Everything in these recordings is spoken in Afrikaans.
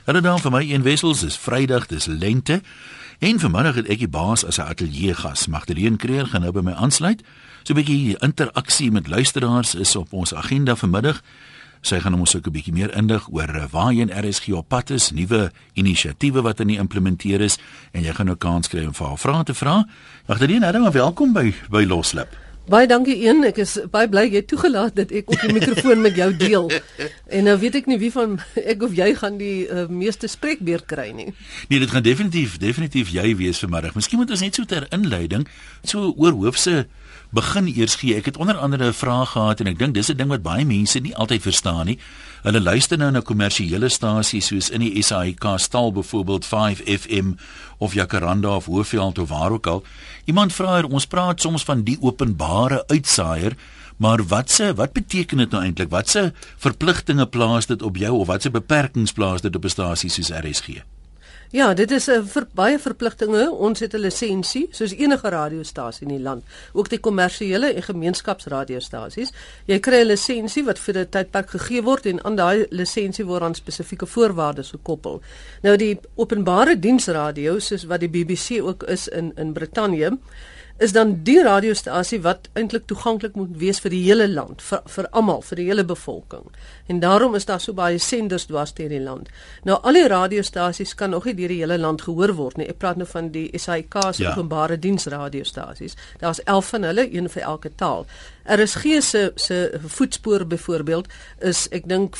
Hallo dan vir my een Wessels, dis Vrydag, dis lente. En vanmiddag het ek die baas as 'n ateljeegas. Magdalene Kreer gaan nou by my aansluit. So 'n bietjie interaksie met luisteraars is op ons agenda vanmiddag. Sy gaan ons ook 'n bietjie meer indig oor waarheen RSG op pad is, nuwe inisiatiewe wat implementeer is, en jy gaan nou kans kry om vir haar vrae te vra. Magdalene, hallo, welkom by Loslip. Baie dankie een, ek is baie bly jy het toegelaat dat ek op die mikrofoon met jou deel. En nou weet ek nie wie van ek of jy gaan die meeste spreekbeurt kry nie. Nee, dit gaan definitief jy wees vanmiddag. Miskien moet ons net so ter inleiding so oor hoofse begin eers gee. Ek het onder andere 'n vraag gehad en ek dink dis 'n ding wat baie mense nie altyd verstaan nie. Hulle luister nou na kommersiële stasies soos in die SAIK stal byvoorbeeld 5FM of Jacaranda of Hoëveld of waar ook al. Iemand vra ons praat soms van die openbare uitsaaier, maar wat beteken dit nou eintlik? Watse verpligtinge plaas dit op jou of watse beperkings plaas dit op 'n stasie soos RSG? Ja, dit is baie verpligtinge. Ons het 'n lisensie, soos enige radiostasie in die land, ook die kommersiële en gemeenskapsradiostasies. Jy kry 'n lisensie wat vir 'n tydperk gegee word en aan daai lisensie word aan spesifieke voorwaardes gekoppel. Nou die openbare diensradio, soos wat die BBC ook is in Brittanje, is dan die radiostasie wat eintlik toeganklik moet wees vir die hele land, vir almal, vir die hele bevolking. En daarom is daar so baie senders dwars deur die land. Nou al die radiostasies kan nog nie deur die hele land gehoor word nie. Ek praat nou van die SAIK se openbare diensradiostasies. Daar's 11 van hulle, een vir elke taal. RSG se voetspoor byvoorbeeld is ek dink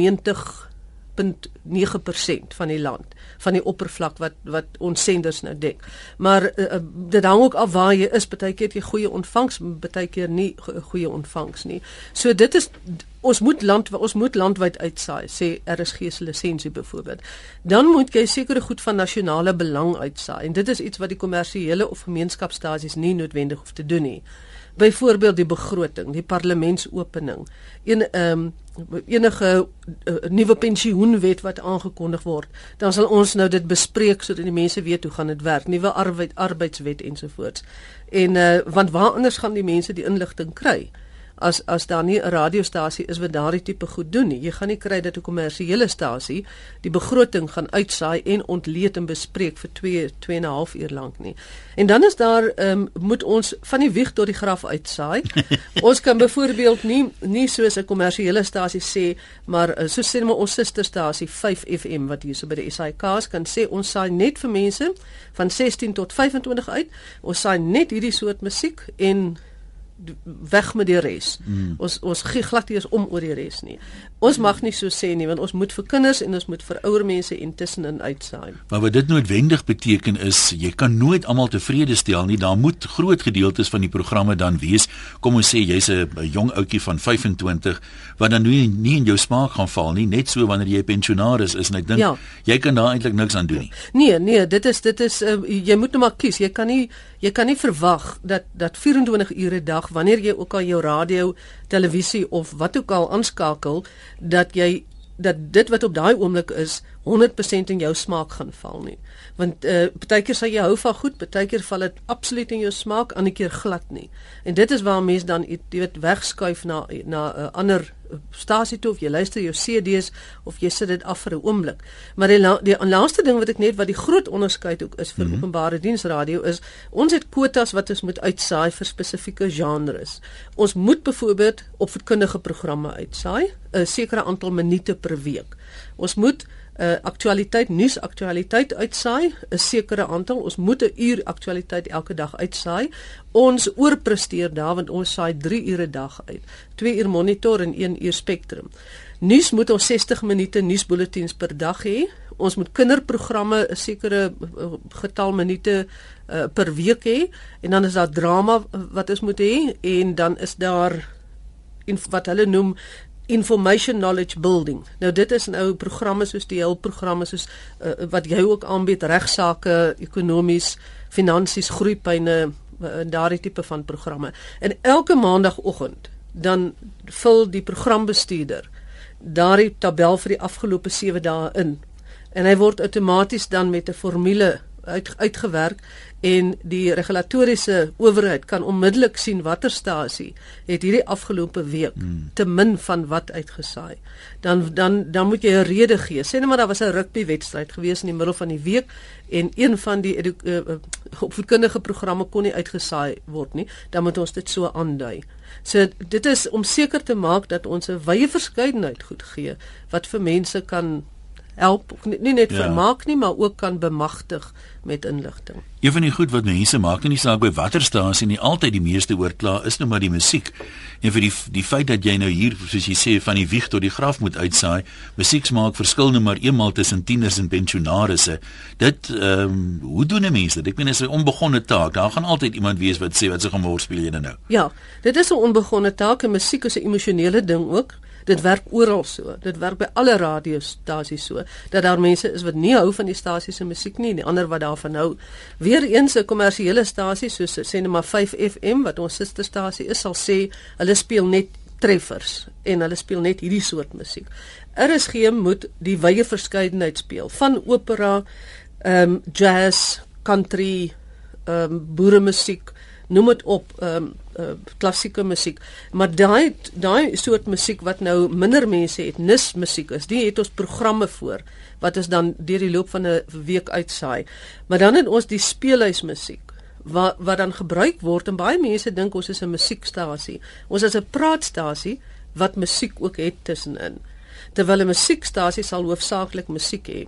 94.9% van die land, van die oppervlak wat ons senders nou dek. Maar dit hang ook af waar jy is. Partykeer het jy goeie ontvangs, partykeer nie goeie ontvangs nie. So dit is ons moet landwyd uitsaai, sê RSG se lisensie byvoorbeeld. Dan moet jy sekere goed van nasionale belang uitsaai. En dit is iets wat die kommersiële of gemeenskapsstasies nie noodwendig hoef te doen nie. Byvoorbeeld die begroting, die parlementsopening, enige nuwe pensioenwet wat aangekondig word, dan sal ons nou dit bespreek sodat die mense weet hoe gaan dit werk, nuwe arbeidswet ensovoorts. En want waar anders gaan die mense die inligting kry? As daar nie 'n radiostasie is wat daardie tipe goed doen nie. Jy gaan nie kry dat 'n kommersiële stasie die begroting gaan uitsaai en ontleed en bespreek vir 2,5 uur lank nie. En dan is daar moet ons van die wieg tot die graf uitsaai. Ons kan byvoorbeeld nie soos 'n kommersiële stasie sê, maar so sê maar ons susterstasie 5FM wat hier so by die SAIK's kan sê ons saai net vir mense van 16 tot 25 uit. Ons saai net hierdie soort musiek en weg met die res. Ons gee glad nie eens om oor die res nie. Ons mag nie so sê nie, want ons moet vir kinders en ons moet vir ouer mense intussenin uitsaai. Maar wat dit noodwendig beteken is, jy kan nooit almal tevrede stel nie. Daar moet groot gedeeltes van die programme dan wees. Kom ons sê jy's 'n jong ouetjie van 25 wat dan nie in jou smaak gaan val nie, net so wanneer jy pensionaris is en ek dink jy kan daar eintlik niks aan doen nie. Nee, dit is jy moet nou maar kies. Jy kan nie verwag dat 24 ure 'n dag, wanneer jy ook al jou radio, televisie of wat ook al aanskakel, dat dit wat op daai oomblik is 100% in jou smaak gaan val nie. Want partykeer sal jy hou van goed, partykeer val dit absoluut in jou smaak, ander keer glad nie. En dit is waar mense dan wegskuif na 'n ander stasie toe, of jy luister jou CD's of jy sit dit af vir 'n oomblik. Maar die laaste ding wat die groot onderskeid ook is vir openbare diensradio is, ons het kwotas wat ons moet uitsaai vir spesifieke genres. Ons moet byvoorbeeld opvoedkundige programme uitsaai, 'n sekere aantal minute per week. Ons moet nuusaktualiteit uitsaai, 'n sekere aantal. Ons moet 'n uur aktualiteit elke dag uitsaai. Ons oorpresteer daar, want ons saai 3 ure 'n dag uit. 2 uur monitor en 1 uur spektrum. Nuus moet ons 60 minute nuusbulletins per dag hê. Ons moet kinderprogramme 'n sekere getal minute per week hê. En dan is daar drama wat ons moet hê. En dan is daar wat hulle noem information knowledge building. Nou dit is nou programme soos die hulpprogramme soos wat jy ook aanbied, regsaake, ekonomies, finansies, groeipyne, daardie tipe van programme. En elke maandagooggend dan vul die programbestuurder daardie tabel vir die afgelope 7 dae in. En hy word outomaties dan met 'n formule uitgewerk en die regulatoriese owerheid kan onmiddellik sien watter stasie het hierdie afgelope week te min van wat uitgesaai. Dan moet jy 'n rede gee. Sê net maar daar was 'n rugbywedstryd gewees in die middel van die week en een van die opvoedkundige programme kon nie uitgesaai word nie. Dan moet ons dit so aandui. So dit is om seker te maak dat ons 'n wye verskeidenheid goed gee wat vir mense kan help, nie net vermaak nie, maar ook kan bemagtig met inligting. Een van die goed wat mense maak, nie saak by watter stasie nie, altyd die meeste oorkla is nou maar die musiek. En vir die feit dat jy nou hier, soos jy sê, van die wieg tot die graf moet uitsaai, musiek maak verskil nou maar eenmal tussen tieners en pensionarisse. Dit, hoe doen 'n mens dit? Ek meen, dit is 'n onbegonne taak. Daar gaan altyd iemand wees wat sê, wat se gemor speel jy nou? Ja, dit is 'n onbegonne taak en musiek is 'n emosionele ding ook. Dit werk oral so. Dit werk by alle radiostasies so, dat daar mense is wat nie hou van die stasie se musiek nie, en die ander wat daarvan hou. Weereens 'n kommersiële stasie soos sê net maar 5FM wat ons susterstasie is, sal sê hulle speel net treffers en hulle speel net hierdie soort musiek. RSG moet die wye verskeidenheid speel, van opera, jazz, country, boeremusiek, noem dit op, klassieke musiek, maar daai soort musiek wat nou minder mense het, nismusiek is, die het ons programme voor, wat is dan deur die loop van 'n week uitsaai. Maar dan het ons die speelhuismusiek, wat dan gebruik word, en baie mense dink ons is 'n musiekstasie. Ons is 'n praatstasie, wat musiek ook het tussenin. Terwyl 'n musiekstasie sal hoofsaaklik musiek hê.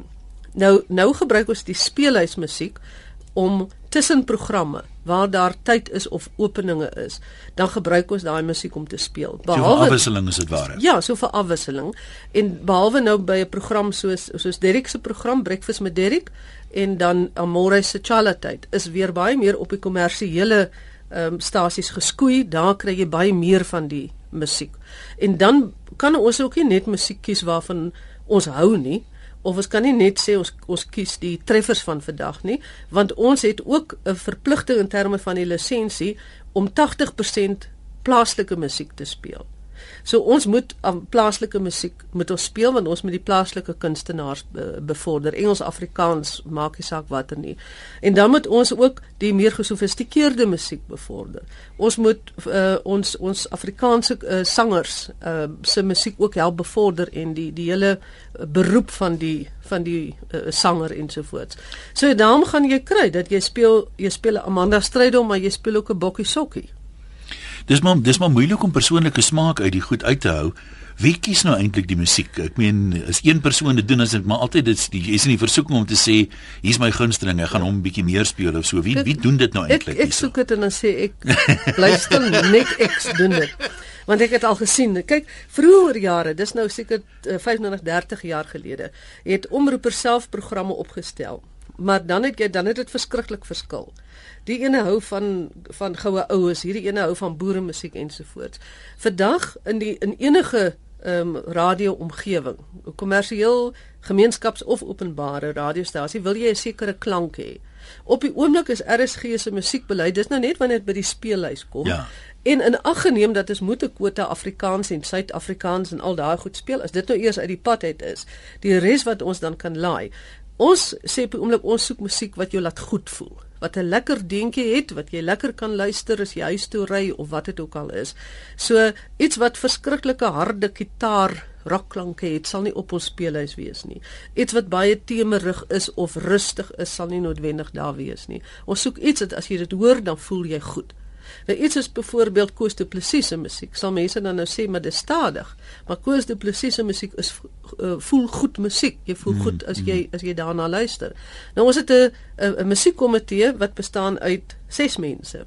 Nou gebruik ons die speelhuismusiek, om tussen programme, waar daar tyd is of openinge is, dan gebruik ons daai musiek om te speel. Behalwe, so vir afwisseling is dit ware. Ja, so vir afwisseling. En behalwe nou by 'n program soos Derek se program, Breakfast met Derek, en dan Amore se Chalatyd, is weer baie meer op die kommersiële stasies geskoei, daar kry jy baie meer van die musiek. En dan kan ons ook nie net musiek kies waarvan ons hou nie, of ons kan nie net sê ons kies die treffers van vandag nie, want ons het ook 'n verpligting in terme van die lisensie om 80% plaaslike musiek te speel. So ons moet plaaslike musiek moet ons speel, want ons moet die plaaslike kunstenaars bevorder. Engels, Afrikaans, maak nie saak watter nie. En dan moet ons ook die meer gesofistikeerde musiek bevorder. Ons moet ons Afrikaanse sangers se musiek ook help bevorder, en die hele beroep van die sanger ensovoorts. So daarom gaan jy kry dat jy speel 'n Amanda Strydom, maar jy speel ook 'n Bokkie Sokkie. Dis maar moeilik om persoonlike smaak uit die goed uit te hou. Wie kies nou eintlik die musiek? Ek meen, as een persoon dit doen, is dit maar altyd jy is in die versoeking om te sê, hier's my gunsteling, ek gaan hom 'n bietjie meer speel of so. Wie doen dit nou eintlik? Ek soek dit en dan sê ek, luister, net ek doen dit. Want ek het al gesien, kyk, vroeër jare, dis nou seker 25-30 jaar gelede, het omroepers self programme opgestel. Maar dan het dit verskriklik verskil. Die ene hou van goue oues, hierdie ene hou van boeremusiek ensovoorts. Vandag in enige radio-omgewing, kommersieel, gemeenskaps- of openbare radiostasie, wil jy 'n sekere klank hê. Op die oomblik is RSG se musiekbeleid, dis nou net wanneer dit by die speellys kom. Ja. En in ag geneem dat ons moet 'n kwota Afrikaans en Suid-Afrikaans en al daai goed speel, as dit nou eers uit die pad uit is, die res wat ons dan kan laai. Ons sê op die oomblik, ons soek musiek wat jou laat goed voel, wat 'n lekker deentjie het, wat jy lekker kan luister as jy huis toe ry of wat dit ook al is. So iets wat verskriklike harde gitaar rockklanke het, sal nie op ons speelhuis wees nie. Iets wat baie temerig is of rustig is, sal nie noodwendig daar wees nie. Ons soek iets dat as jy dit hoor, dan voel jy goed. Nou iets is byvoorbeeld Koos Du Plessis se musiek, sal mense dan nou sê, maar dis stadig. Maar Koos Du Plessis se musiek is voel goed musiek. Jy voel goed as jy daarna luister. Nou ons het 'n musiekkomitee wat bestaan uit 6 mense.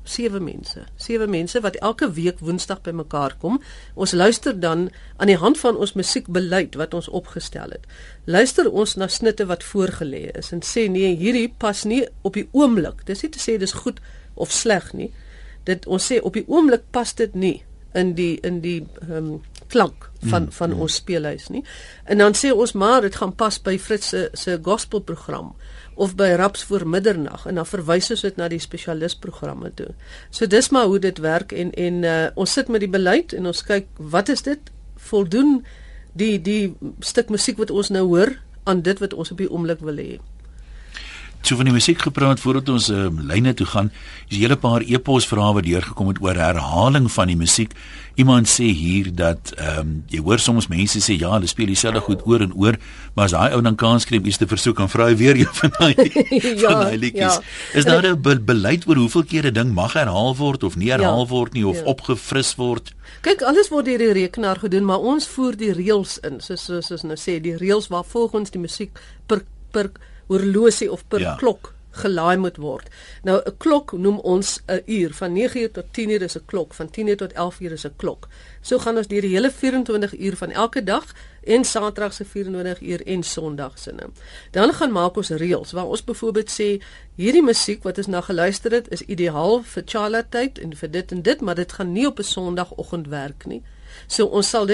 7 mense wat elke week Woensdag bymekaar kom. Ons luister dan aan die hand van ons musiekbeleid wat ons opgestel het. Luister ons na snitte wat voorgelê is en sê nee, hierdie pas nie op die oomblik. Dis nie te sê dis goed of sleg nie. Ons sê op die oomblik pas dit nie in die klank van ons speelhuis nie. En dan sê ons maar dit gaan pas by Fritz se gospelprogram of by Raps voor middernag, en dan verwys ons dit na die spesialistprogramme toe. So dis maar hoe dit werk, en ons sit met die beleid en ons kyk wat is dit, voldoen die stuk musiek wat ons nou hoor aan dit wat ons op die oomblik wil hê. So van die musiek gepraat voordat ons lyne toe gaan, is 'n hele paar e-posvrae wat deurgekom het oor herhaling van die musiek. Iemand sê hier dat jy hoor soms mense sê ja, hulle speel dieselfde goed oor en oor, maar as daai ou dan kans kry om iets te versoek, dan vra hy weer een van daai liedjies. Is daar 'n beleid oor hoeveel keer 'n ding mag herhaal word of nie herhaal word nie of opgefris word? Kyk, alles word deur die rekenaar gedoen, maar ons voer die reëls in, soos nou sê, die reëls waar volgens die musiek per horlosie of per klok gelaai moet word. Nou 'n klok noem ons 'n uur, van 9 uur tot 10 uur is 'n klok, van 10 uur tot 11 uur is 'n klok. So gaan ons deur die hele 24 uur van elke dag en Saterdag se 24 uur en Sondag se. Dan gaan maak ons reëls waar ons byvoorbeeld sê hierdie musiek wat ons nou geluister het is ideaal vir Charlotte-tyd en vir dit en dit, maar dit gaan nie op 'n Sondagoggend werk nie. So ons sal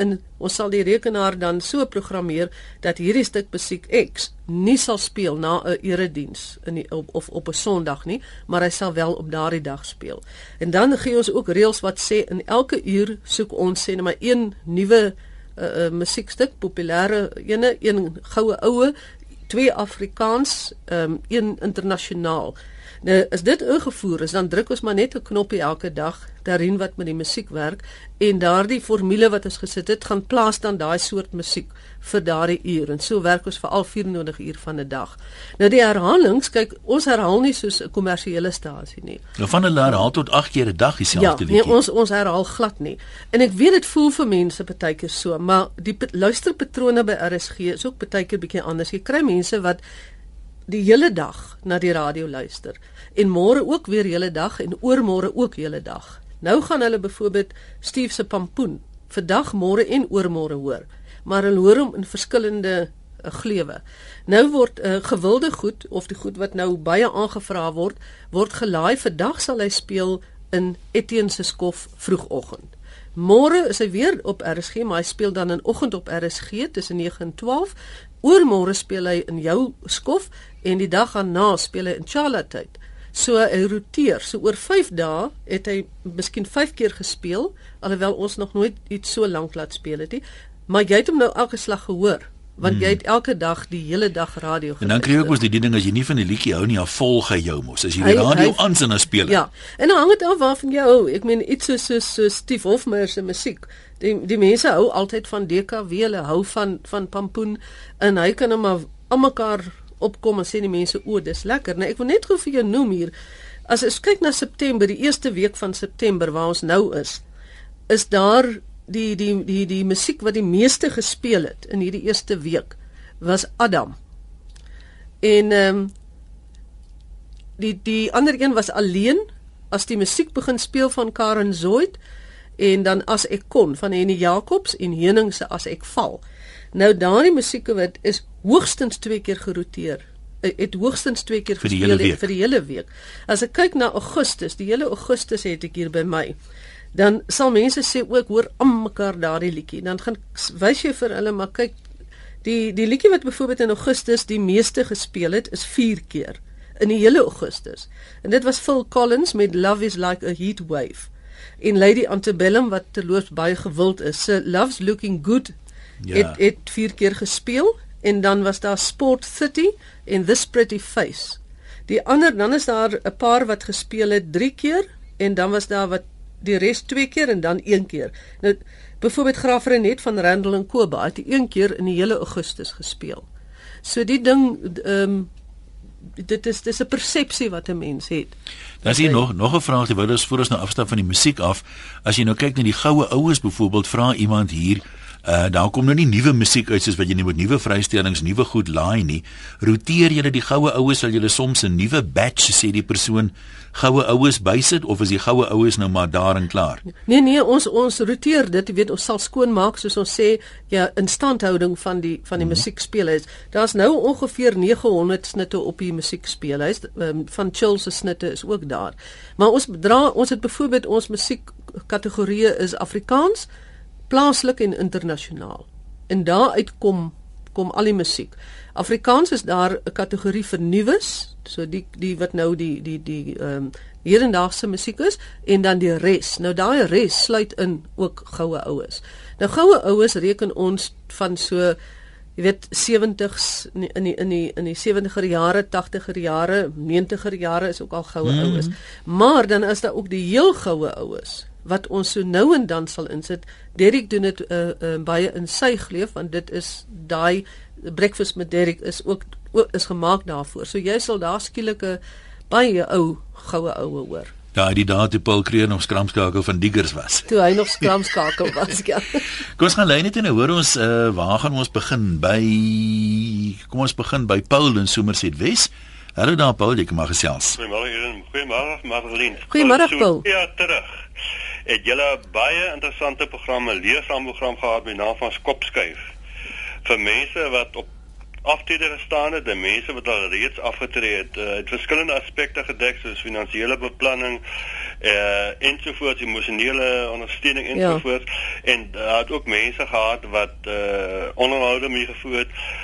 die rekenaar dan so programmeer dat hierdie stuk musiek X nie sal speel na 'n erediens of op 'n Sondag nie, maar hy sal wel op daardie dag speel. En dan gee ons ook reëls wat sê in elke uur soek ons sê net maar een nuwe musiekstuk, populêre een goue oue, 2 Afrikaans, 1 internasionaal. Nou, as dit ingevoer is, dan druk ons maar net 'n knoppie elke dag daarin wat met die musiek werk en daardie formule wat ons gesit het, gaan plaas dan daai soort musiek vir daardie uur en so werk ons vir al 24 uur van 'n dag. Nou die herhalings, kyk, ons herhaal nie soos 'n kommersiële stasie nie. Nou van hulle herhaal tot 8 keer 'n dag dieselfde liedjie. Nee, ons herhaal glad nie. En ek weet dit voel vir mense partykeer so, maar die luisterpatrone by RSG is ook partykeer bietjie anders. Jy kry mense wat die hele dag na die radio luister en môre ook weer hele dag en oormôre ook hele dag. Nou gaan hulle byvoorbeeld Steve se Pampoen vandag, môre en oormôre hoor, maar hulle hoor hom in verskillende gleuwe. Nou word gewilde goed of die goed wat nou baie aangevra word gelaai. Vandag sal hy speel in Etienne se skof vroegoggend. Môre is hy weer op RSG, maar hy speel dan in oggend op RSG tussen 9 en 12. Oormôre speel hy in jou skof en die dag daarna speel hy in Charlotte-tyd. So hy roteer. So oor 5 dae het hy miskien 5 keer gespeel, alhoewel ons nog nooit iets so lank laat speel het nie. Maar jy het hom nou elke slag gehoor, want jy het elke dag die hele dag radio geluister. En dan kry jy ook mos die ding as jy nie van die liedjie hou nie, dan volg hy jou mos. As jy die radio aansit en speel. Ja. En dan hang dit af waarvan jy hou. Ek meen iets so Steve Hofmeyr se musiek. Die mense hou altyd van DKW, hulle hou van Pampoen en hy kan hom maar aan mekaar opkom en sê die mense, o, dis lekker. Nou ek wil net gou vir jou noem hier. As ons kyk na September, die eerste week van September waar ons nou is daar die musiek wat die meeste gespeel het in hierdie eerste week was Adam. En die ander een was Alleen, as die musiek begin speel van Karen Zoid en dan As ek kon van Henny Jacobs en Heuning se As ek val. Nou daardie musieke wat is hoogstens 2 keer geroteer. Het hoogstens 2 keer gespeel vir die hele week. As ek kyk na Augustus, die hele Augustus het ek hier by my. Dan sal mense sê ook hoor aan mekaar daardie liedjie. Dan gaan wys jy vir hulle maar kyk die liedjie wat byvoorbeeld in Augustus die meeste gespeel het is 4 keer in die hele Augustus. En dit was Phil Collins met Love is like a heat wave. En Lady Antebellum wat terloops baie gewild is. So Love's Looking Good het 4 keer gespeel en dan was daar Sport City en This Pretty Face. Dan is daar 'n paar wat gespeel het 3 keer en dan was daar wat die res 2 keer en dan 1 keer. Nou byvoorbeeld Graaf Renet van Randall en Koba het 1 keer in die hele Augustus gespeel. So die ding dit is 'n persepsie wat 'n mens het. Dan is hier nog 'n vraag terwyl ons voor ons nou afstap van die musiek af. As jy nou kyk na die goue oues byvoorbeeld, vra iemand hier daar kom nou nie nuwe musiek uit soos wat jy nie met nuwe vrystellings, nuwe goed laai nie. Roteer jy die goue oues, sal jy soms 'n nuwe batch sê die persoon goue oues bysit of is die goue oues nou maar daar en klaar? Nee, ons roteer dit, jy weet, ons sal skoon maak soos ons sê, ja, instandhouding van die musiekspeelhuis. Daar's nou ongeveer 900 snitte op die musiekspeelhuis, van Chill se snitte is ook daar. Maar ons het byvoorbeeld ons musiekkategorieë is Afrikaans, plaaslik en internasionaal. En daaruit kom al die musiek. Afrikaans is daar 'n kategorie vir nuus, so die wat nou die hedendaagse musiek is en dan die res. Nou daai res sluit in ook goue oues. Nou goue oues reken ons van so jy weet 70s in die 70er jare, 80er jare, 90er jare is ook al goue oues. Maar dan is daar ook die heel goue oues wat ons so nou en dan sal insit. Derek doen dit baie in sy geleef, want dit is daai Breakfast met Derek is gemaak daarvoor. So jy sal daar skielik 'n baie goue oue hoor. Daai die dae toe Paul Kreer nog skramskakel van Diggers was. Toe hy nog skramskakel was, ja. Kom ons gaan lei net en hoor ons waar gaan ons begin kom ons begin by Paul in Somerset Wes. Hallo daar Paul, jy kan maar gesels. Goeiemôre Marlene. Goeiemôre Paul. Ja, terug. Het julle baie interessante programme, leesraamprogram gehad met naam van Kopskuif. Vir mense wat op aftrede gestaan het, en mense wat al reeds afgetree het verskillende aspekte gedek, soos finansiële beplanning, ensovoorts, emosionele ondersteuning ensovoorts, en het ook mense gehad wat onderhoude mee gevoerd.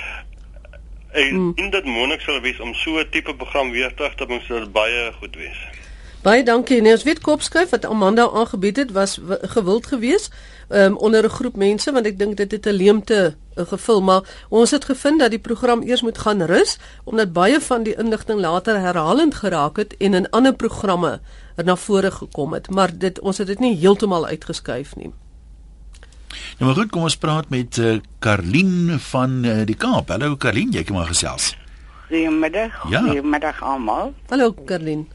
En in dit moontlik sal wees om so 'n tipe program weer terug te bring, sal baie goed wees. Baie dankie. Nee, ons weet Kopskuif wat Amanda aangebied het was gewild geweest onder 'n groep mense, want ek dink dit het 'n leemte gevul, maar ons het gevind dat die program eers moet gaan rus, omdat baie van die inligting later herhalend geraak het en in ander programme na vore gekom het, maar ons het dit nie heeltemal uitgeskuif nie. Nou maar goed, kom ons praat met Karlien van die Kaap. Hallo Karlien, jy kan maar gesels. Goeiemiddag, Ja. Goeiemiddag almal. Hallo Karlien.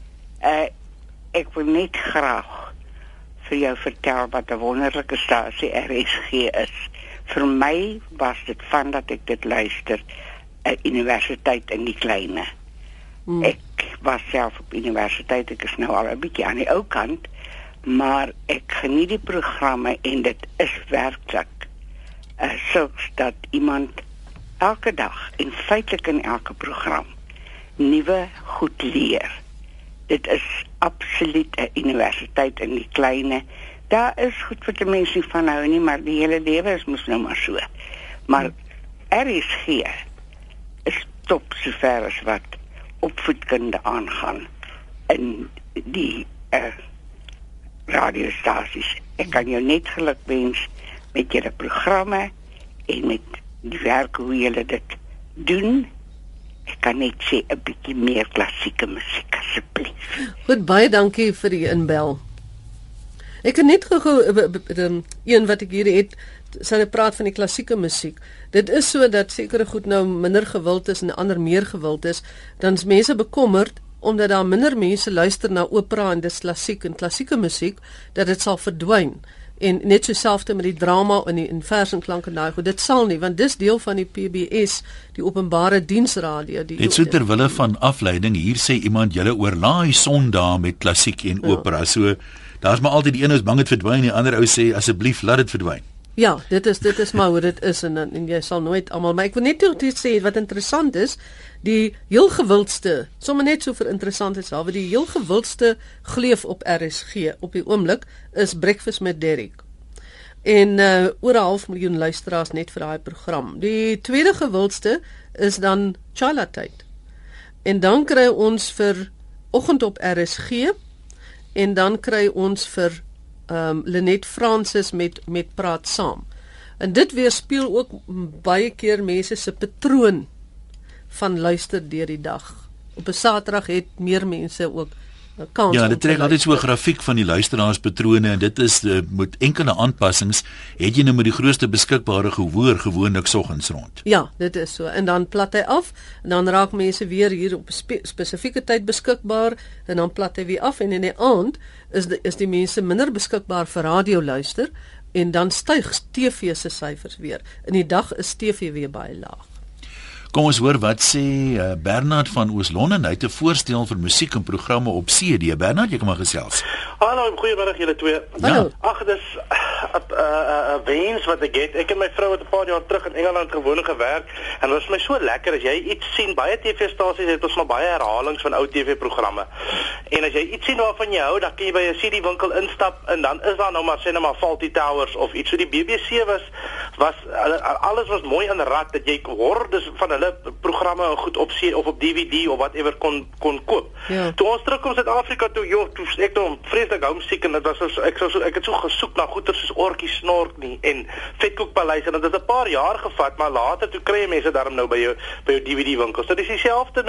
Ek wil net graag vir jou vertel wat 'n wonderlike stasie RSG is. Vir my was dit van dat ek dit luister, 'n universiteit in die kleine. Ek was self op universiteit, ek is nou al 'n bietjie aan die ou kant, maar ek geniet die programme en dit is werklik sulks dat iemand elke dag en feitelik in elke program nuwe goed leer. Dit is absoluut 'n universiteit in die kleine. Daar is goed wat die mense nie van hou nie, maar die hele lewe is mos nou maar so. Maar RSG is top sover as wat opvoedkunde aangaan in die radiostasies. Ek kan jou net geluk wens met julle programme en met die werk hoe julle dit doen. Ek kan net sê 'n bietjie meer klassieke musiek asseblief. Goed, baie dankie vir die inbel. Ek het net gou een wat ek hier het, sy praat van die klassieke musiek. Dit is so dat sekere goed nou minder gewild is en ander meer gewild is, dan is mense bekommerd omdat daar minder mense luister na opera en dis klassiek en klassieke musiek, dat dit sal verdwyn. En net so selfde met die drama en die vers en klank en daai goed. Dit sal nie, want dis deel van die PBS, die openbare diensradio. Net so ter wille van afleiding, hier sê iemand julle oorlaai Sondag met klassiek en opera. So daar's maar altyd die een is bang dit verdwyn, die ander ou sê asseblief laat dit verdwyn. Ja, dit is maar hoe dit is en jy sal nooit almal, maar ek wil net sê wat interessant is, die heel gewildste, sommer net so vir interessantheid self, die heel gewildste gleef op RSG op die oomblik is Breakfast met Derek. En oor 500,000 luisteraars net vir daai program. Die tweede gewildste is dan Chila-tyd. En dan kry ons vir Oggend op RSG en dan kry ons vir Lenet Francis met Praat Saam. En dit weerspieël ook baie keer mense se patroon van luister deur die dag. Op 'n Saterdag het meer mense ook kans. Ja, dit trek altyd so 'n grafiek van die luisteraarspatrone en dit is met enkele aanpassings het jy nou met die grootste beskikbare gehoor gewoonlik soggens rond. Ja, dit is so. En dan plat hy af en dan raak mense weer hier op 'n spesifieke tyd beskikbaar en dan plat hy weer af en in die aand is die mense minder beskikbaar vir radio luister en dan styg TV se syfers weer. In die dag is TV weer baie laag. Kom ons hoor wat sê Bernard van Oos-London. Hy het 'n voorstel vir musiek en programme op CD. Bernard, jy kan maar gesels. Hallo, goeiemiddag julle twee. Hallo. Ag, dis 'n wens wat ek het. Ek en my vrou het 'n paar jaar terug in Engeland gewoonlik gewerk en dit was my so lekker as jy iets sien. Baie TV-stasies het ons maar baie herhalings van ou TV-programme. En as jy iets sien waarvan jy hou, dan kan jy by 'n CD-winkel instap en dan is daar nou maar sê net maar Fawlty Towers of iets. So die BBC was alles was mooi in rad dat jy hordes van hulle hulle programme goed op of op DVD of whatever kon koop. Ja. Toe ons terugkom Suid-Afrika toe, toe ek toe vreeslik homesick en dit was ek het so gesoek na goeie soos Orkie Snork nie en Vetkoekpaleis en dit het 'n paar jaar gevat, maar later toe kry jy mense daarom nou by jou DVD winkels. Dit is dieselfde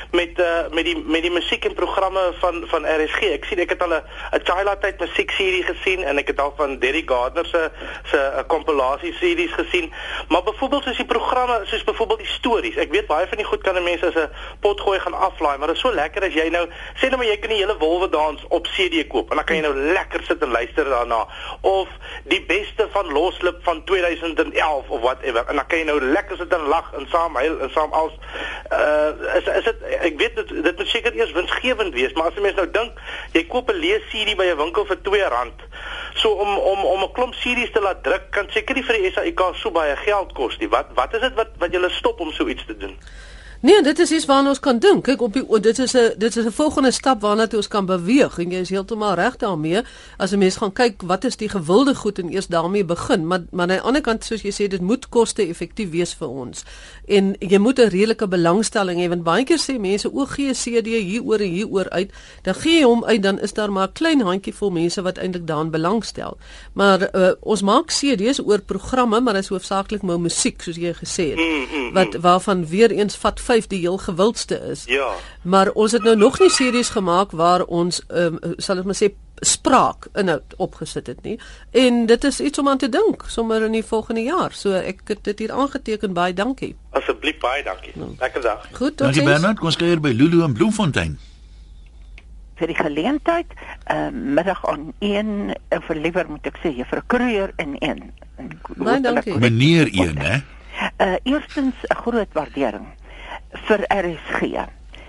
met die musiek en programme van RSG. Ek sien ek het al 'n Childhood musiekserie gesien en ek het al van Derek Gardner se compilasie series gesien. Maar byvoorbeeld soos die programme, soos byvoorbeeld die stories. Ek weet baie van die goed kan mense as 'n potgooi gaan aflaai, maar dit is so lekker as jy nou sê nou maar jy kan die hele Wolwedans op CD koop en dan kan jy nou lekker sit en luister daarna. Of die beste van Loslip van 2011 of whatever. En dan kan jy nou lekker sit en lag en saam huil en saam als is dit ek weet dit moet seker eers winsgewend wees, maar as jy mens nou dink, jy koop 'n lees-CD by 'n winkel vir R2. So om 'n klomp CD's te laat druk kan seker nie vir die SAIK so baie geld kos nie. Wat is dit wat julle stop om so iets te doen? Nee, dit is iets waarna ons kan dink. Kyk, dit is 'n volgende stap waarna toe ons kan beweeg en jy is heeltemal reg daarmee. As 'n mens gaan kyk wat is die gewilde goed en eers daarmee begin, maar aan die ander kant soos jy sê, dit moet koste-effektief wees vir ons. En jy moet 'n redelike belangstelling hê want baie keer sê mense o, gee CD hieroor en hieroor uit, dan gee jy hom uit, dan is daar maar 'n klein handjievol mense wat eintlik daaraan belangstel. Maar ons maak CD's oor programme, maar dit is hoofsaaklik maar musiek soos jy gesê het. Waarvan weer eens vat 5 die heel gewildste is. Ja. Maar ons het nou nog nie series gemaak waar ons sal ek maar sê spraak inhoud opgesit het nie. En dit is iets om aan te dink sommer in die volgende jaar. So ek het dit hier aangeteken, baie dankie. Asseblief baie dankie. Lekker dag. Goed, Dankie Bernard, kom ons kuier by Lulu in Bloemfontein. Vir die geleentheid middag aan 1 of liewer moet ek sê juffrou Kruger in 1. Baie dankie. Meneer 1, hè? Eerstens 'n groot waardering vir RSG.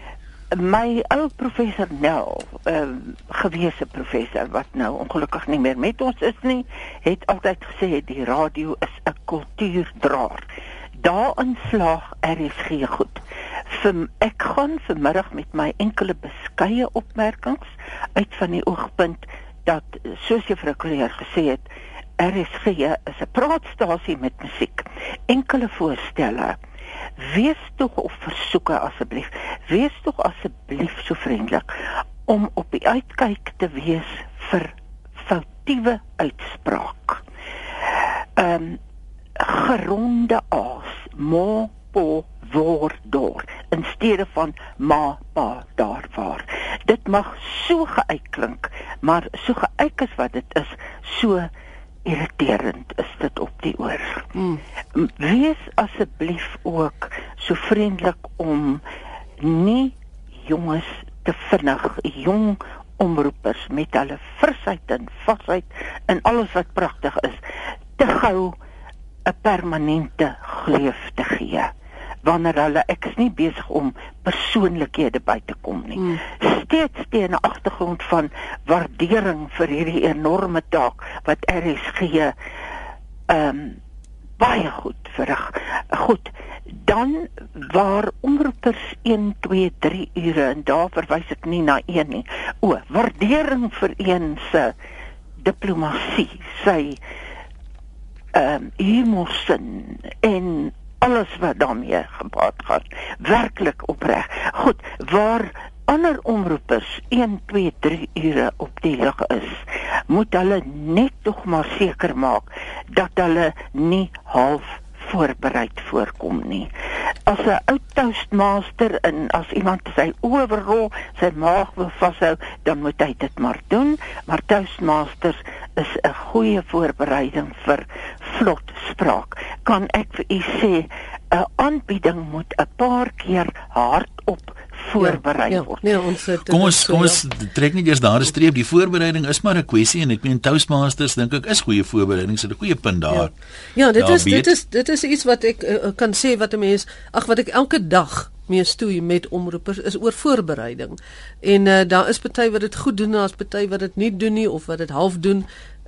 My ou professor Nel, gewese professor wat nou ongelukkig nie meer met ons is nie, het altyd gesê die radio is 'n kultuurdraer. Daarin slaag RSG goed. Ek gaan vanmiddag met my enkele beskeie opmerkings uit van die oogpunt dat, soos juffrou Kleur gesê het, RSG is 'n praatstasie met musiek. Enkele voorstelle. Wees tog of versoeke asseblief. Wees tog asseblief so vriendelik om op die uitkyk te wees vir foutiewe uitspraak. Geronde a's, mo, po, word, door, in steede van ma, pa, daar, waar. Dit mag so geuitklink, maar so geuit is wat dit is, so irriterend is dit op die oor. Wees asseblief ook so vriendelik om nie jonges te vinnig, jong omroepers met hulle frisheid en vasheid en alles wat pragtig is, te gou 'n permanente gleuf te gee. Wanneer hulle, ek is nie besig om persoonlikhede by te kom nie. Steeds teen 'n agtergrond van waardering vir hierdie enorme taak wat RSG baie goed verrig. Goed, dan waar omroepers 1, 2, 3 ure, en daar verwys ek nie na 1 nie. Waardering vir een se diplomatie, sy humorsin en alles wat daarmee gepaard gaan, werklik opreg. Goed, waar ander omroepers 1, 2, 3 ure op die lug is, moet hulle net tog maar seker maak dat hulle nie half voorbereid voorkom nie. As 'n ou toastmaster en as iemand sy overrol, sy maag wil vashou, dan moet hy dit maar doen, maar toastmasters is 'n goeie voorbereiding vir vlot spraak. Kan ek vir u sê, 'n aanbieding moet 'n paar keer hardop voorberei word. Nee, ons het, Kom ons trek nie eers daar 'n streep. Die voorbereiding is maar 'n kwessie en ek meen Toastmasters dink ek is goeie voorbereiding, so 'n goeie punt daar. Ja, dit is iets wat ek kan sê wat 'n mens, wat ek elke dag mee stoei met omroepers is oor voorbereiding. En daar is party wat dit goed doen, daar's party wat dit nie doen nie of wat dit half doen.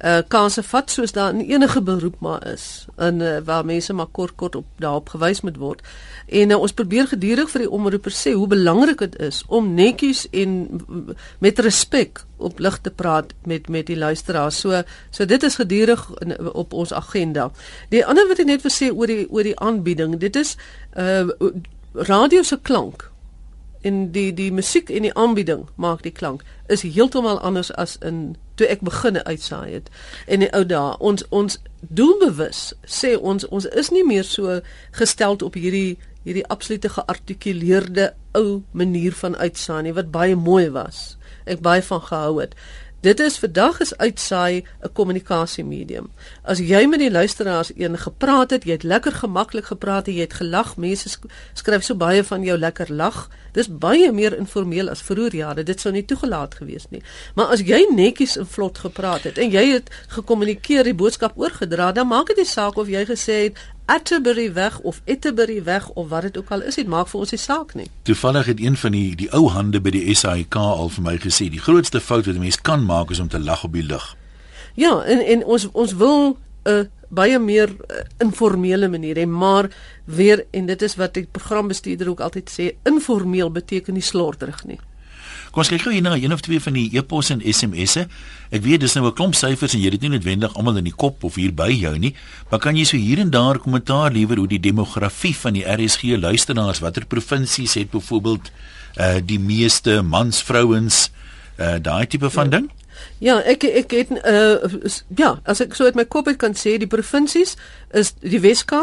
kanse vat soos daar in enige beroep maar is, en waar mense maar kort op daarop gewys moet word. En ons probeer gedurig vir die omroepers sê hoe belangrik dit is om netjies en met respek op lig te praat met die luisteraars. So dit is gedurig op ons agenda. Die ander wat ek net wil sê oor die aanbieding, dit is radio se klank en die musiek en die aanbieding maak die klank is heeltemal anders as toe ek begin uitsaai het. En die ou dae, ons doelbewus sê ons is nie meer so gesteld op hierdie absolute geartikuleerde ou manier van uitsaai nie, wat baie mooi was. Ek baie van gehou het. Dit is vandag is uitsaai 'n kommunikasiemedium. As jy met die luisteraars gepraat het, jy het lekker gemaklik gepraat, jy het gelag, mense skryf so baie van jou lekker lag. Dis baie meer informeel as vroeër jare. Dit sou nie toegelaat gewees nie. Maar as jy netjies en vlot gepraat het en jy het gekommunikeer, die boodskap oorgedra, dan maak dit nie saak of jy gesê het Atterbury weg of Etterbury weg of wat dit ook al is, dit maak vir ons die saak nie. Toevallig het een van die ou hande by die SAIK al vir my gesê, die grootste fout wat 'n mens kan maak is om te lag op die lug. Ja, en ons wil baie meer informele manier hê, maar weer, en dit is wat die programbestuurder ook altyd sê, informeel beteken nie slordig nie. Kom ons kyk gou hier na een of twee van die e-pos en SMS'e. Ek weet dis nou 'n klomp syfers en jy het dit nie noodwendig almal in die kop of hier by jou nie, maar kan jy so hier en daar kommentaar lewer oor die demografie van die RSG luisteraars, watter provinsies het byvoorbeeld die meeste mans, vrouens, daai tipe van ding? Ja, ek het as ek so uit my kop uit kan sê, die provinsies is die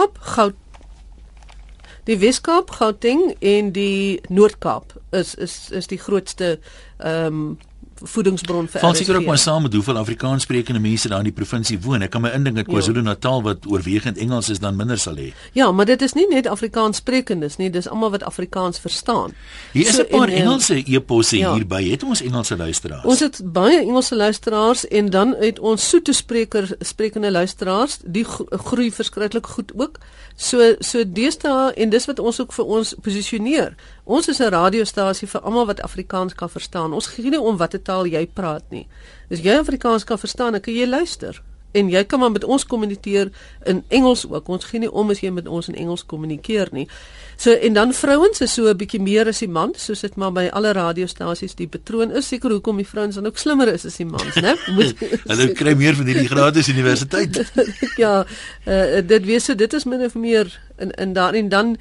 Wes-Kaap, Gauteng en die Noord-Kaap is die grootste voedingsbron vir Val seker ook maar saam met hoeveel Afrikaans sprekende mense daar in die provinsie woon. Ek kan my indink dat KwaZulu-Natal wat oorwegend Engels is dan minder sal hê. Ja, maar dit is nie net Afrikaans sprekendes nie, dis almal wat Afrikaans verstaan. Hier is 'n paar Engelse e-posse hierby. Het ons Engelse luisteraars? Ons het baie Engelse luisteraars en dan het ons soete sprekende luisteraars, die groei verskriklik goed ook. So deesdae, en dis wat ons ook vir ons posisioneer. Ons is 'n radiostasie vir almal wat Afrikaans kan verstaan. Ons gee nie om watter taal jy praat nie. As jy Afrikaans kan verstaan, dan kan jy luister. En jy kan maar met ons kommunikeer in Engels ook. Ons gee nie om as jy met ons in Engels kommunikeer nie. So, en dan vrouens is so 'n bietjie meer as die mans, soos dit maar by alle radiostasies die patroon is. Seker hoekom die vrouens dan ook slimmer is as die mans, né? Hulle kry meer van hierdie gratis universiteit. Ja, dit wees so, dit is min of meer en dan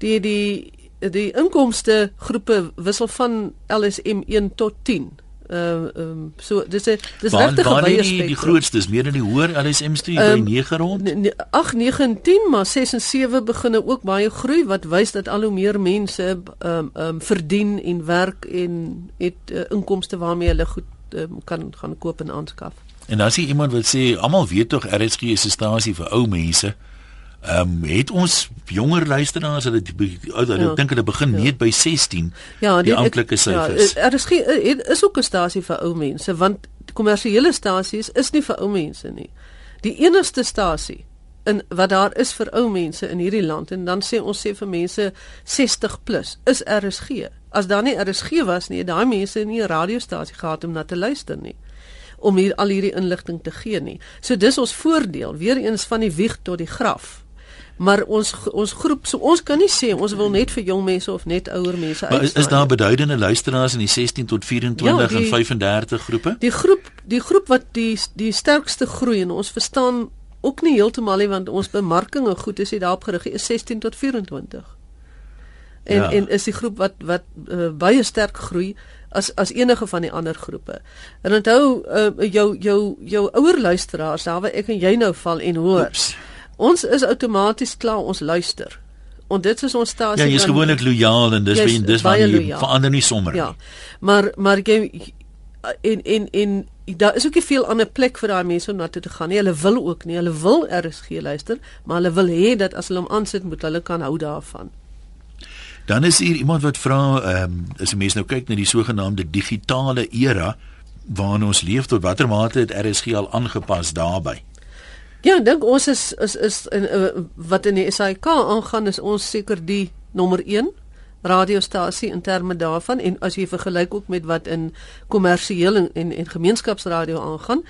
die inkomste groepe wissel van LSM 1 tot 10. So dis regtig 'n baie spektrum. Die grootste is meer in die hoër LSM studie by 9 rond. 8, 9 en 10, maar 6 en 7 begin ook baie groei, wat wys dat al hoe meer mense verdien en werk en het inkomste waarmee hulle goed kan gaan koop en aanskaf. En as jy iemand wil sê, almal weet tog RSG is 'n stasie vir ou mense. Het ons jonger luisteraars, hulle dink hulle begin net by 16, die amptelike syfers. Ja, RSG is ook 'n stasie vir ou mense, want kommersiële stasies is nie vir ou mense nie. Die enigste stasie wat daar is vir ou mense in hierdie land, en dan sê ons vir mense 60 plus, is RSG. As daar nie RSG was nie, daai mense nie 'n radiostasie gehad om na te luister nie, om al hierdie inligting te gee nie. So dis ons voordeel, weer eens van die wieg tot die graf. Maar ons groep, so ons kan nie sê ons wil net vir jong mense of net ouer mense uitsaai. Maar is daar beduidende luisteraars in die 16 tot 24 en 35 groepe? Die groep wat die sterkste groei, en ons verstaan ook nie heeltemal nie, want ons bemarking en goed is hier daarop gerig, is 16 tot 24. En is die groep wat baie sterk groei as enige van die ander groepe. En onthou jou ouer luisteraars, daar waar ek en jy nou val en hoor. Oeps. Ons is outomaties klaar, ons luister. Want dit is ons stasie. Ja, jy is gewoonlik lojaal en dis waar jy verander nie sommer nie. Ja. Maar jy en daar is ook nie veel ander plek vir daai mense om na toe te gaan nie. Hulle wil ook nie. Hulle wil RSG luister, maar hulle wil hê dat as hulle hom aansit, moet hulle kan hou daarvan. Dan is hier iemand wat vra, as 'n mens nou kyk na die sogenaamde digitale era waarin ons leef, tot watter mate het RSG al aangepas daarbey? Ja, ek dink ons is wat in die SAIK aangaan, is ons seker die nommer 1 radiostasie in terme daarvan, en as jy vergelyk ook met wat in kommersieel en gemeenskapsradio aangaan,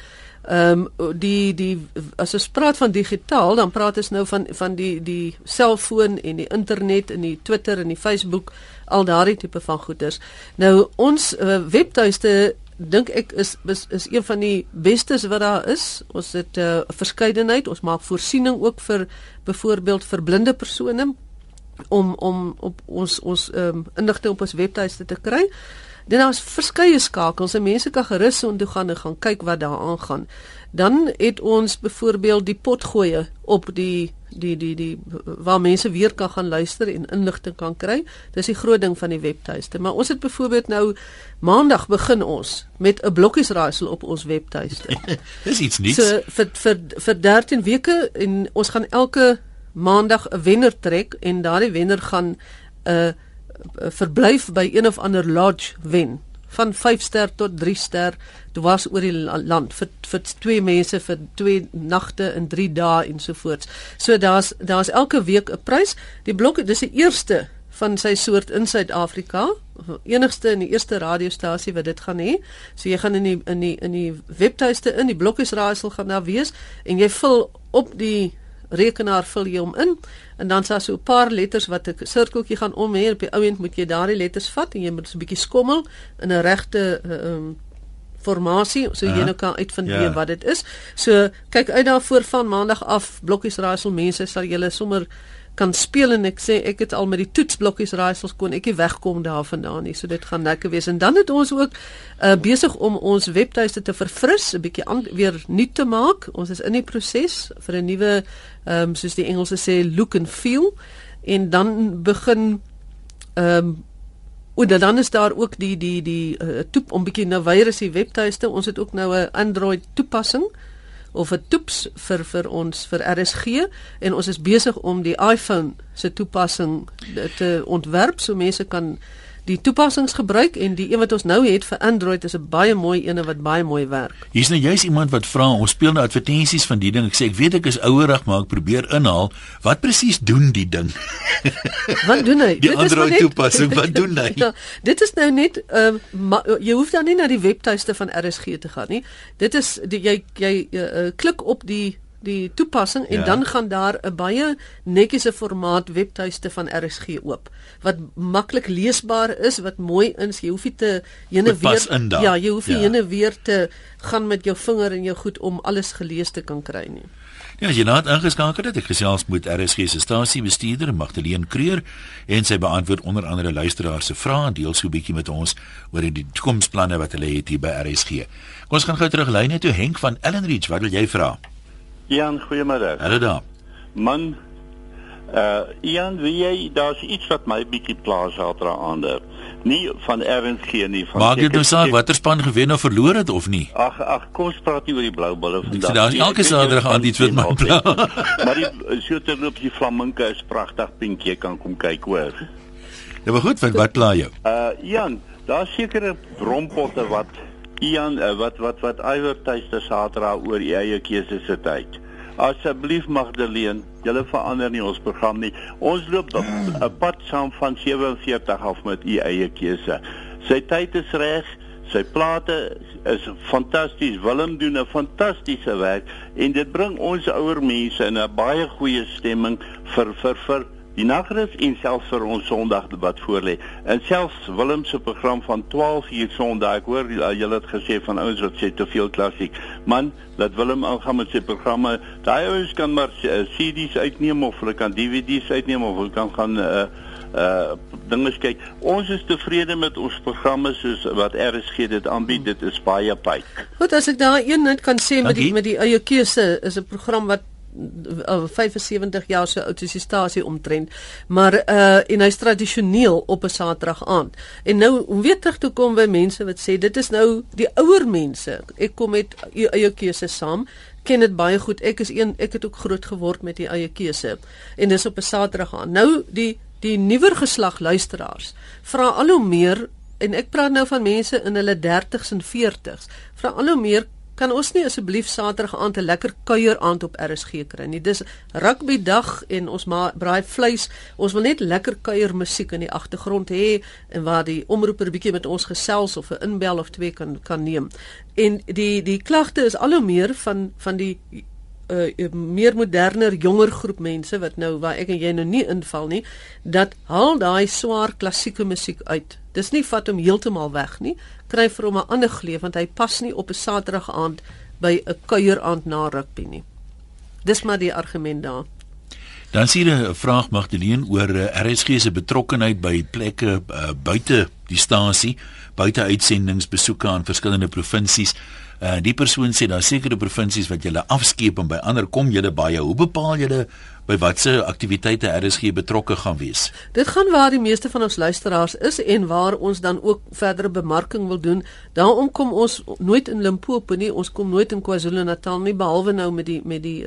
As ons praat van digitaal, dan praat ons nou van die selfoon en die internet en die Twitter en die Facebook, al daardie tipe van goeders. Nou ons webtuiste dink ek is een van die bestes wat daar is. Ons het 'n verskeidenheid, ons maak voorsiening ook vir byvoorbeeld vir blinde persone om op ons inligting op ons webtuiste te kry. Dan daar's verskeie skakels en mense kan gerus so intoe gaan en gaan kyk wat daar aangaan. Dan het ons byvoorbeeld die potgoeie op die waar mense weer kan gaan luister en inligting kan kry. Dis die groot ding van die webtuiste. Maar ons het byvoorbeeld nou maandag begin ons met 'n blokkiesraaisel op ons webtuiste. Dis iets nuuts. So vir 13 weke en ons gaan elke maandag 'n wenner trek en daardie wenner gaan 'n verblyf by een of ander lodge wen. Van 5 ster tot 3 ster, dwars oor die land, vir 2 mense, vir 2 nagte en 3 dae ensovoorts. So daar's elke week 'n prys. Die blok, dis die eerste van sy soort in Suid-Afrika, enigste en die eerste radiostasie wat dit gaan hê. So jy gaan in die webtuiste in, die blokkiesraaisel gaan daar wees, en jy vul op die rekenaar vul jy hom in, en dan sal so 'n paar letters wat 'n sirkeltjie gaan om hê, op die ou end moet jy daardie letters vat, en jy moet so 'n bietjie skommel, in 'n regte formasie, so jy nou kan uitvind wat dit is. So, kyk uit daarvoor van maandag af, blokkiesraaisel mense, sal julle sommer kan speel, en ek sê, ek het al met die toetsblokkiesraaisels kon ek nie wegkom daarvandaan nie, so dit gaan lekker wees. En dan het ons ook besig om ons webtuiste te verfris, 'n bietjie weer nuut te maak. Ons is in die proses vir 'n nuwe, soos die Engelse sê, look and feel, en dan begin dan is daar ook die toep om bietjie nou weer is die webtuiste. Ons het ook nou 'n Android toepassing of 'n toeps vir ons vir RSG, en ons is besig om die iPhone se toepassing te ontwerp, so mense kan die toepassings gebruik, en die een wat ons nou het vir Android is 'n baie mooi ene wat baie mooi werk. Hier's nou juist iemand wat vra, ons speel nou advertensies van die ding. Ek sê ek weet ek is ouerig, maar ek probeer inhaal. Wat presies doen die ding? Wat doen hy? Die Android toepassing, wat doen hy? Ja, dit is nou net jy hoef dan nie na die webtuiste van RSG te gaan nie. Dit is jy klik op die toepassing, en dan gaan daar 'n baie netjiese formaat webtuiste van RSG oop, wat maklik leesbaar is, wat mooi is. Jy hoef nie te jy hoef nie heen en weer te gaan met jou vinger en jou goed om alles gelees te kan kry nie. Ja, as jy nou ingeskakel het, ek gesels met RSG se stasiebestuurder Magdalene Kreur, en sy beantwoord onder andere luisteraars se vrae en deel so 'n bietjie met ons oor die toekomsplanne wat hulle het hier by RSG. Kom ons gaan gou terug lyne toe. Henk van Ellenridge, wat wil jy vra? Ian, goeiemiddag. Hallo daar. Man, Ian, daar's iets wat my bietjie pla Saterdaande. Nie van RSG nie, van maak dit nou saak watter span gewen of verloor het of nie? Ag, kom ons praat nie oor die blou bulle vandag. So daar's elke Saterdag aan iets wat my pla. Maar die so terloop die Flamingo is pragtig, Pinkjie, jy kan kom kyk, hoor. Ja, maar goed, wat pla jou? Ian, daar's sekere brompotte wat Ian, wat adverteiste Saterdag oor die eie keuse se tyd. Asseblief Magdalene, julle verander nie ons program nie. Ons loop 'n pad saam van 47 af met u eie keuse. Sy tyd is reg, sy plate is fantasties. Willem doen 'n fantastiese werk, en dit bring ons ouer mense in 'n baie goeie stemming vir die nagrus en selfs vir ons Sondag wat voorlê. En selfs Willem se program van 12:00 Sondag, ek hoor julle het gesê van ouens wat sê te veel klassiek. Man, laat Willem aangaan met sy programme. Daai ouens kan maar CD's uitneem, of hulle kan DVD's uitneem, of hulle kan gaan dinge kyk. Ons is tevrede met ons programme soos wat RSG dit aanbied. Dit is baie pyk. Goed, as ek daar een net kan sê met die eie keuse, is 'n program wat 75 jaar so oud is die stasie omtrent, maar en hy's tradisioneel op 'n Saterdag aand. En nou om weer terug te kom by mense wat sê dit is nou die ouer mense. Ek kom met u eie keuse saam, ken dit baie goed. Ek het ook groot geword met die eie keuse, en dis op 'n Saterdag aand. Nou die nuwer geslag luisteraars vra al hoe meer, en ek praat nou van mense in hulle 30s en 40s, vra al hoe meer kan ons nie asseblief Saterdag aand 'n lekker kuier aand op RSG kry nie. Dis rugby dag en ons braai vleis. Ons wil net lekker kuier musiek in die agtergrond hê en waar die omroeper bietjie met ons gesels of 'n inbel of twee kan neem. En die klagte is al hoe meer van die meer moderner, jonger groep mense wat nou waar ek en jy nou nie inval nie, dat haal daai swaar klassieke musiek uit. Dis nie vat hom heeltemal weg nie. Kry vir hom 'n ander gleef want hy pas nie op 'n Saterdag aand by 'n kuieraand na rugby nie. Dis maar die argument daar. Dan sien 'n vraag Magdalene oor RSG se betrokkenheid by plekke buite die stasie, buite uitsendingsbesoeke aan verskillende provinsies. Die persoon sê daar sekere provinsies wat julle afskeep en by ander kom julle baie. Hoe bepaal julle by watse aktiwiteite RSG betrokke gaan wees? Dit gaan waar die meeste van ons luisteraars is en waar ons dan ook verdere bemarking wil doen. Daarom kom ons nooit in Limpopo nie, ons kom nooit in KwaZulu-Natal nie, behalwe nou met die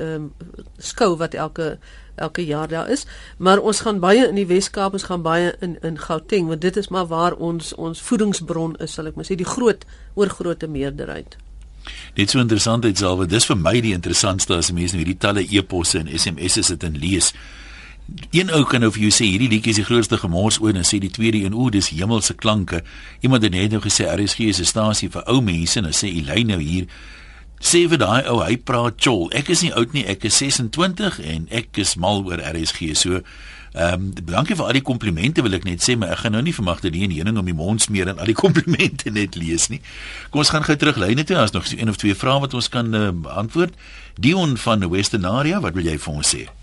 skou wat elke jaar daar is, maar ons gaan baie in die Wes-Kaap, ons gaan baie in Gauteng, want dit is maar waar ons voedingsbron is, sal ek maar sê, die oorgrote meerderheid. Net so interessantheid selwe, dis vir my die interessantste as mense nou hierdie talle e-posse en SMS'e sit en lees. Een ou kan nou vir jou sê hierdie liedjie is die grootste gemors ooit en sê die tweede een, dis hemelse klanke. Iemand het net nou gesê RSG is 'n stasie vir ou mense en dan sê Elyn nou hier sê vir daai ou, hy praat chol. Ek is nie oud nie, ek is 26 en ek is mal oor RSG. So dankie vir al die komplimente wil ek net sê, maar ek gaan nou nie vir Magdalene Heuning om die mond smeer en al die komplimente net lees nie. Kom ons gaan gou terug lyne toe, as nog so een of twee vrae wat ons kan antwoord. Dion van Westernaria, wat wil jy vir ons sê?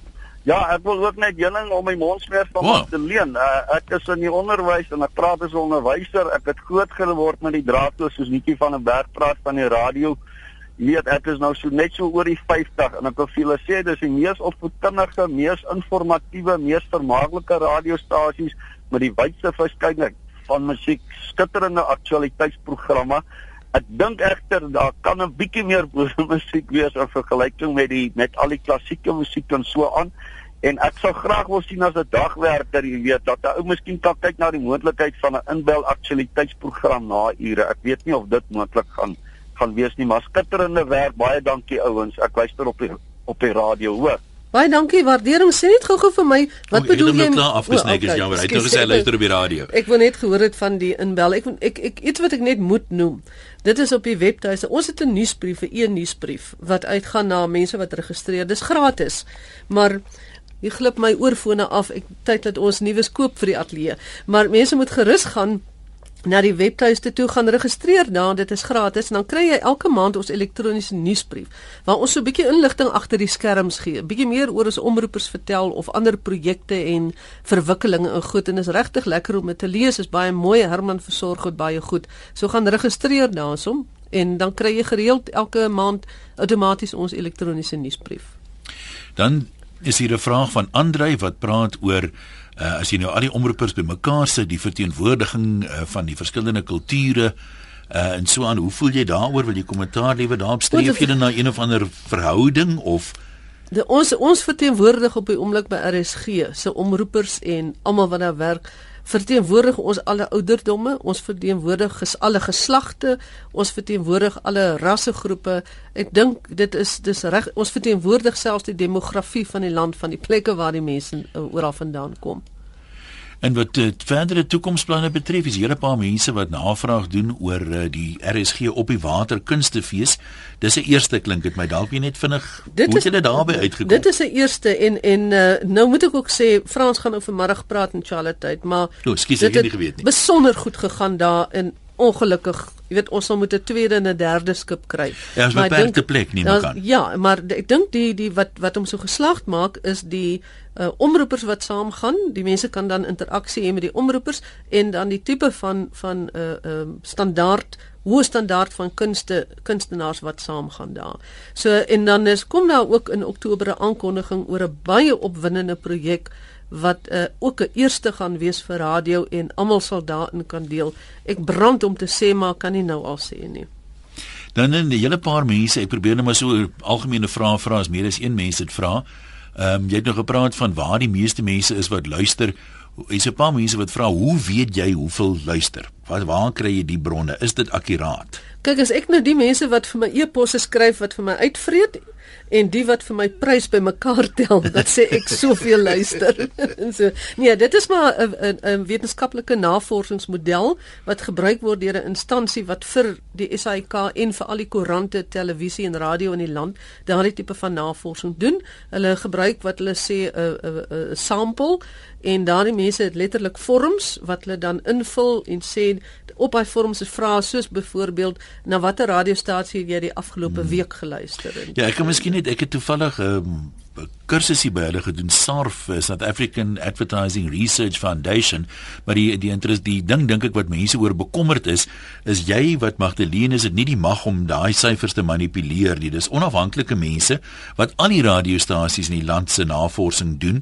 Ja, ek wil ook net Heuning om my mond smeer van Magdalene. Ek is in die onderwys en ek praat as 'n onderwyser. Ek het groot geword met die draadloos soos Nikkie van der Berg praat van die radio. Jy weet, ek is nou net so oor die 50 en ek wil vir julle sê dis die mees opvoedkundige, mees informatiewe, mees vermaaklike radiostasies met die wydste verskeidenheid van musiek, skitterende aktualiteitsprogramme. Ek dink egter daar kan 'n bietjie meer musiek wees in vergelyking met al die klassieke musiek en so aan. En ek sou graag wil sien as 'n dagwerker, jy weet, dat 'n ou miskien kan kyk na die moontlikheid van 'n inbel aktualiteitsprogram na ure. Ek weet nie of dit moontlik gaan wees nie, maar skitterende werk. Baie dankie ouens. Ek luister op die radio, hoor. Baie dankie, waardering. Sê net gou vir my, wat bedoel jy? Afgesnyk is jammer. Hy het nou gesê hy luister op die radio. Ek wil net gehoor het van die inbel. Ek iets wat ek net moet noem. Dit is op die webtuiste. Ons het 'n nuusbrief, 'n e-nuusbrief wat uitgaan na mense wat registreer. Dis gratis. Maar jy glip my oorfone af. Tyd dat ons nuus koop vir die ateljee. Maar mense moet gerus gaan na die webtuiste toe, gaan registreer daar, dit is gratis, en dan kry jy elke maand ons elektroniese nuusbrief, waar ons so 'n bietjie inligting agter die skerms gee, 'n bietjie meer oor ons omroepers vertel, of ander projekte en verwikkelinge en goed, en is regtig lekker om dit te lees, is baie mooi, Herman versorg dit baie goed, so gaan registreer daarsom, en dan kry jy gereeld elke maand outomaties ons elektroniese nuusbrief. Dan is hier 'n vraag van Andrei wat praat oor as jy nou al die omroepers bymekaar sit, die verteenwoordiging van die verskillende kulture en so aan, hoe voel jy daaroor? Wil jy kommentaar lewer daarop? Streef jy na een of ander verhouding of ons verteenwoordig op die oomblik by RSG se omroepers en almal wat daar werk, verteenwoordig ons alle ouderdomme, ons verteenwoordig alle geslagte, ons verteenwoordig alle rassegroepe. Ek dink dis reg, ons verteenwoordig selfs die demografie van die land, van die plekke waar die mense oral vandaan kom. En wat verdere toekomsplanne betref, is hier 'n paar mense wat navraag doen oor die RSG op die water kunstefees. Dis 'n eerste, klink dit my, dalk jy net vinnig, hoe het julle daarby uitgekom? Dit is 'n eerste en nou moet ek ook sê, Frans gaan nou vanmiddag praat in Charlotte, maar dit het besonder goed gegaan daar en ongelukkig, jy weet, ons sal moet 'n tweede en 'n derde skip kry. Ja, is beperkte plek nie meer kan. Ja, maar ek dink die wat hom so geslaagd maak is die omroepers wat saamgaan. Die mense kan dan interaksie hê met die omroepers en dan die tipe van hoë standaard van kunstenaars wat saamgaan daar. So en dan kom daar ook in Oktober 'n aankondiging oor 'n baie opwindende projek wat ook 'n eerste gaan wees vir radio en almal sal daarin kan deel. Ek brand om te sê, maar kan nie nou al sê nie. Dan 'n hele paar mense, ek probeer net maar so 'n algemene vraag vra, as meer as een mens dit vra. Jy het nog gepraat van waar die meeste mense is wat luister. Is 'n paar mense wat vra, hoe weet jy hoeveel luister? Waar kry jy die bronne? Is dit akkuraat? Kyk, as ek nou die mense wat vir my e-posse skryf wat vir my uitvreet en die wat vir my prys bymekaar tel, dat sê ek soveel luister. En so, nee, dit is maar 'n wetenskaplike navorsingsmodel wat gebruik word deur 'n instansie wat vir die SAIK en vir al die koerante, televisie en radio in die land daardie tipe van navorsing doen. Hulle gebruik wat hulle sê 'n sample en daardie mense het letterlik vorms wat hulle dan invul en sê op daai vorms is vrae soos byvoorbeeld na watter radiostasie het jy die afgelope week geluister? Ja, ek het toevallig 'n kursusie by hulle gedoen, SARF, South African Advertising Research Foundation, maar die ding dink ek wat mense oor bekommerd is jy wat Magdalene is dit nie die mag om daai syfers te manipuleer nie. Dis onafhanklike mense wat al die radiostasies in die land se navorsing doen.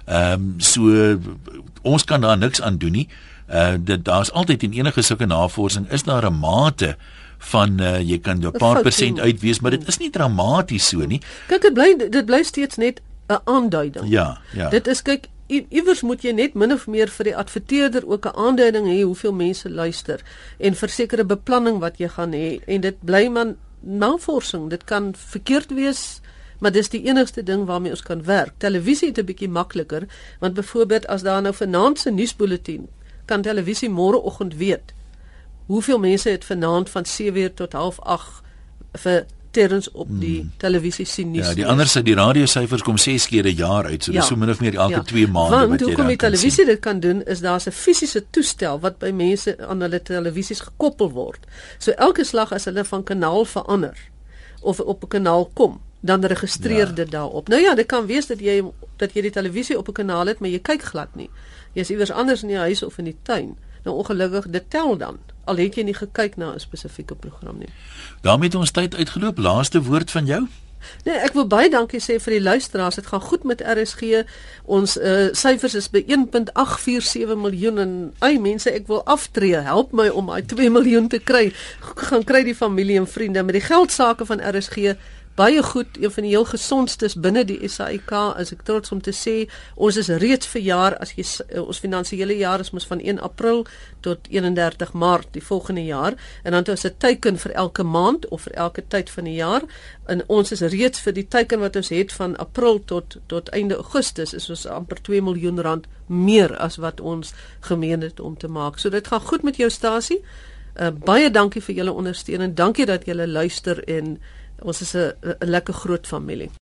So ons kan daar niks aan doen nie. Daar's altyd in enige sulke navorsing is daar 'n mate van jy kan 'n paar persent uitwees, maar dit is nie dramaties so nie. Kyk, dit bly steeds net 'n aanduiding. Ja. Dit is kyk iewers moet jy net min of meer vir die adverteerder ook 'n aanduiding hê hoeveel mense luister en versekerde beplanning wat jy gaan hê en dit bly man navorsing. Dit kan verkeerd wees, maar dis die enigste ding waarmee ons kan werk. Televisie het 'n bietjie makliker, want byvoorbeeld as daar nou vanaand se nuusbulletin kan televisie môreoggend weet hoeveel mense het vanaand van 7:00 tot 7:30 vir terwyls op die televisie sien nuus. Ja, die ander sy die radiosyfers kom 6 keer 'n jaar uit, so dis so min of meer elke 2 maande wat jy dan kan sien. Want hoekom die televisie dit kan doen is daar's 'n fisiese toestel wat by mense aan hulle televisies gekoppel word. So elke slag as hulle van kanaal verander of op 'n kanaal kom, dan registreer dit daarop. Nou ja, dit kan wees dat jy die televisie op 'n kanaal het, maar jy kyk glad nie. Jy is iewers anders in die huis of in die tuin. Nou ongelukkig dit tel dan. Al het jy nie gekyk na 'n spesifieke program nie. Daarmee het ons tyd uitgeloop. Laaste woord van jou? Nee, ek wil baie dankie sê vir die luisteraars. Dit gaan goed met RSG. Ons syfers is by 1.847 miljoen en mense, ek wil aftree. Help my om daai 2 miljoen te kry. Gaan kry die familie en vriende met die geldsaake van RSG. Baie goed, een van die heel gesondstes binne die SAIK, is ek trots om te sê, ons is reeds vir jaar, as jy ons finansiële jaar is mos van 1 April tot 31 Maart die volgende jaar, en dan is 'n teiken vir elke maand of vir elke tyd van die jaar, en ons is reeds vir die teiken wat ons het van April tot einde Augustus, is ons amper 2 miljoen rand meer as wat ons gemeen het om te maak. So dit gaan goed met jou stasie. Baie dankie vir julle ondersteuning. Dankie dat julle luister en ons is 'n lekker groot familie.